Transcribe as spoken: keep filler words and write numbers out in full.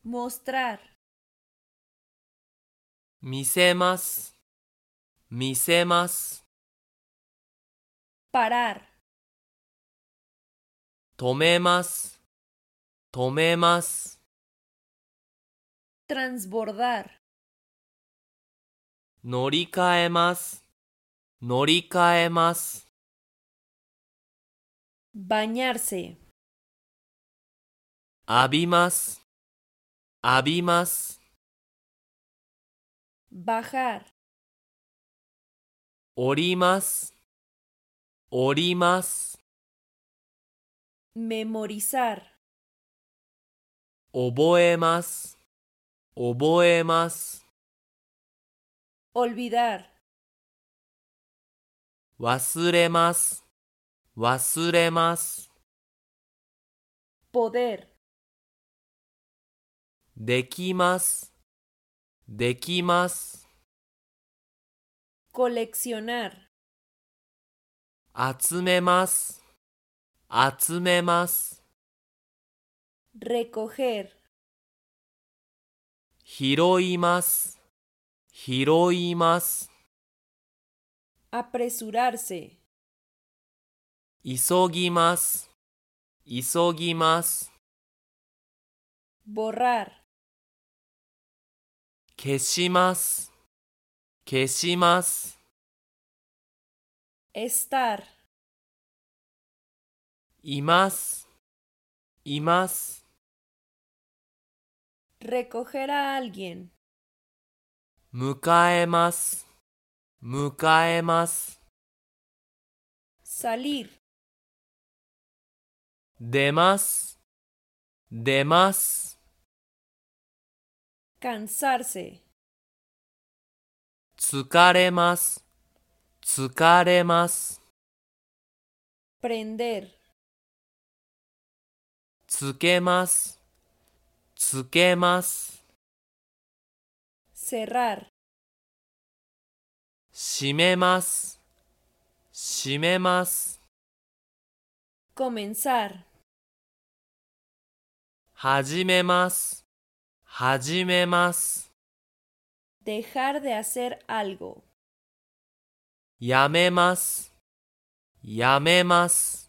mostrar, 見せます、見せます。 parar, 止めます、止めます。 transbordar, 乗り換えます、乗り換えます。 bañarse, 浴びます、浴びます。 bajar, 降ります、降ります。 memorizar, 覚えます、覚えます。 olvidar, 忘れます、忘れます。 poder, できます、できます。 coleccionar, 集めます、集めます。 recoger, 拾います、拾います。 apresurarse, 急ぎます、急ぎます。 borrar, 消します、消します。 estar, います、います。 recoger a alguien, 迎えます、迎えます。 salir, 出ます、出ます。 cansarse, 疲れます、疲れます。 prender, つけます、つけます。 cerrar, 閉めます、閉めます。 comenzar, 始めます、始めます。 dejar de hacer algo, やめます、やめます。